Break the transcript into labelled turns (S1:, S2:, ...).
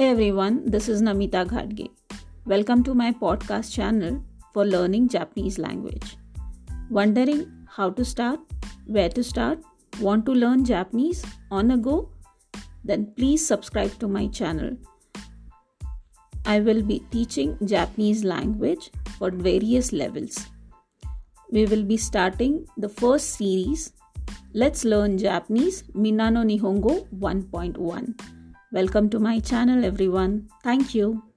S1: Hey everyone, this is Namita Ghadge. Welcome to my podcast channel for learning Japanese language. Wondering how to start? Where to start? Want to learn Japanese on a go? Then please subscribe to my channel. I will be teaching Japanese language for various levels. We will be starting the first series. Let's learn Japanese Minna no Nihongo 1.1. Welcome to my channel everyone. Thank you.